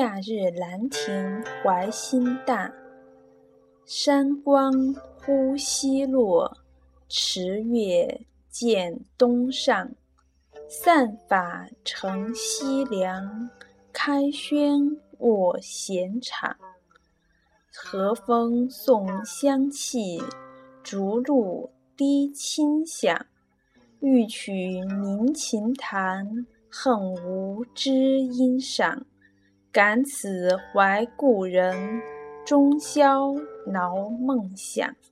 夏日兰亭怀心大，山光忽西落，池月见东上。散发乘西凉，开轩卧闲场。和风送香气，竹露滴清响。欲取鸣琴弹，恨无知音赏。感此怀故人，终宵恼梦想。